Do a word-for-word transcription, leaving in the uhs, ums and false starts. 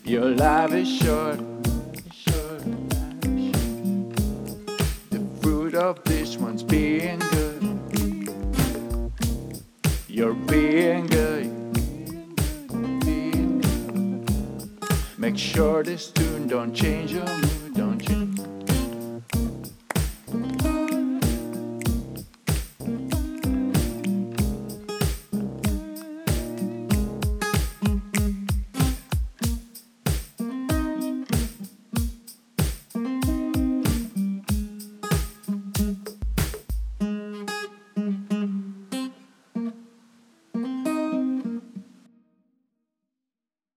Your life is short. The fruit of this one's being good. You're being good. Being good. Make sure this tune don't change your mood.